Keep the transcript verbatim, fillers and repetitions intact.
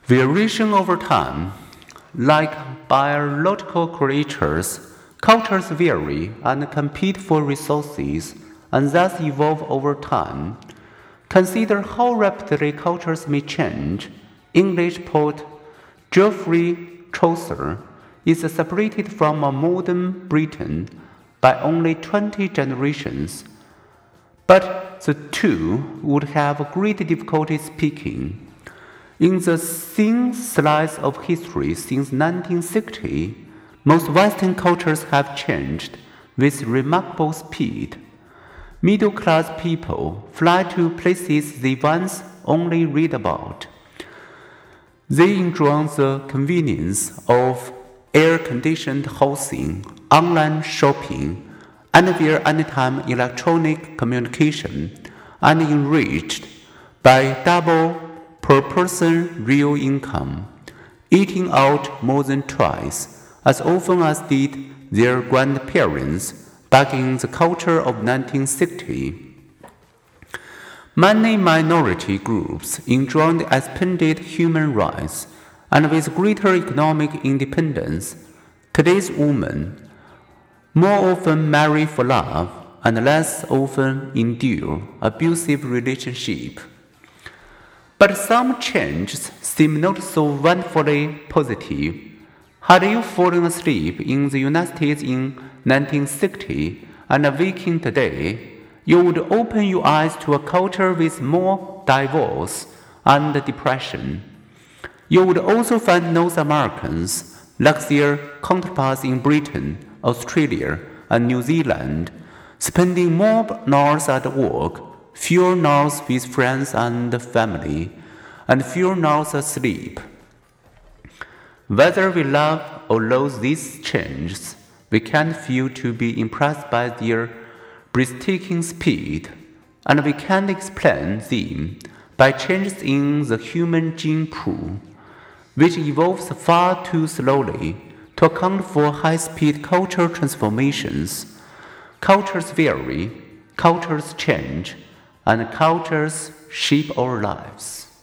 Variation over time. Like biological creatures, cultures vary and compete for resources and thus evolve over time. Consider how rapidly cultures may change. English poet Geoffrey Chaucer is separated from a modern Britain by only twenty generations, but the two would have great difficulty speaking. In the thin slice of history since nineteen sixty, most Western cultures have changed with remarkable speed. Middle-class people fly to places they once only read about. They enjoy the convenience of air-conditioned housing, online shopping, anywhere anytime electronic communication, and enriched by double per person real income, eating out more than twice, as often as did their grandparents back in the culture of nineteen sixty. Many minority groups enjoyed expanded human rights, and with greater economic independence, today's women more often marry for love and less often endure abusive relationships. But some changes seem not so wonderfully positive. Had you fallen asleep in the United States in nineteen sixty and awakened today, you would open your eyes to a culture with more divorce and depression. You would also find North Americans, like their counterparts in Britain, Australia, and New Zealand, spending more nights at work, fewer nights with friends and family, and fewer nights asleep. Whether we love or loathe these changes, we can't fail to be impressed by their breathtaking speed, and we can't explain them by changes in the human gene pool, which evolves far too slowly to account for high-speed cultural transformations. Cultures vary, cultures change, and cultures shape our lives.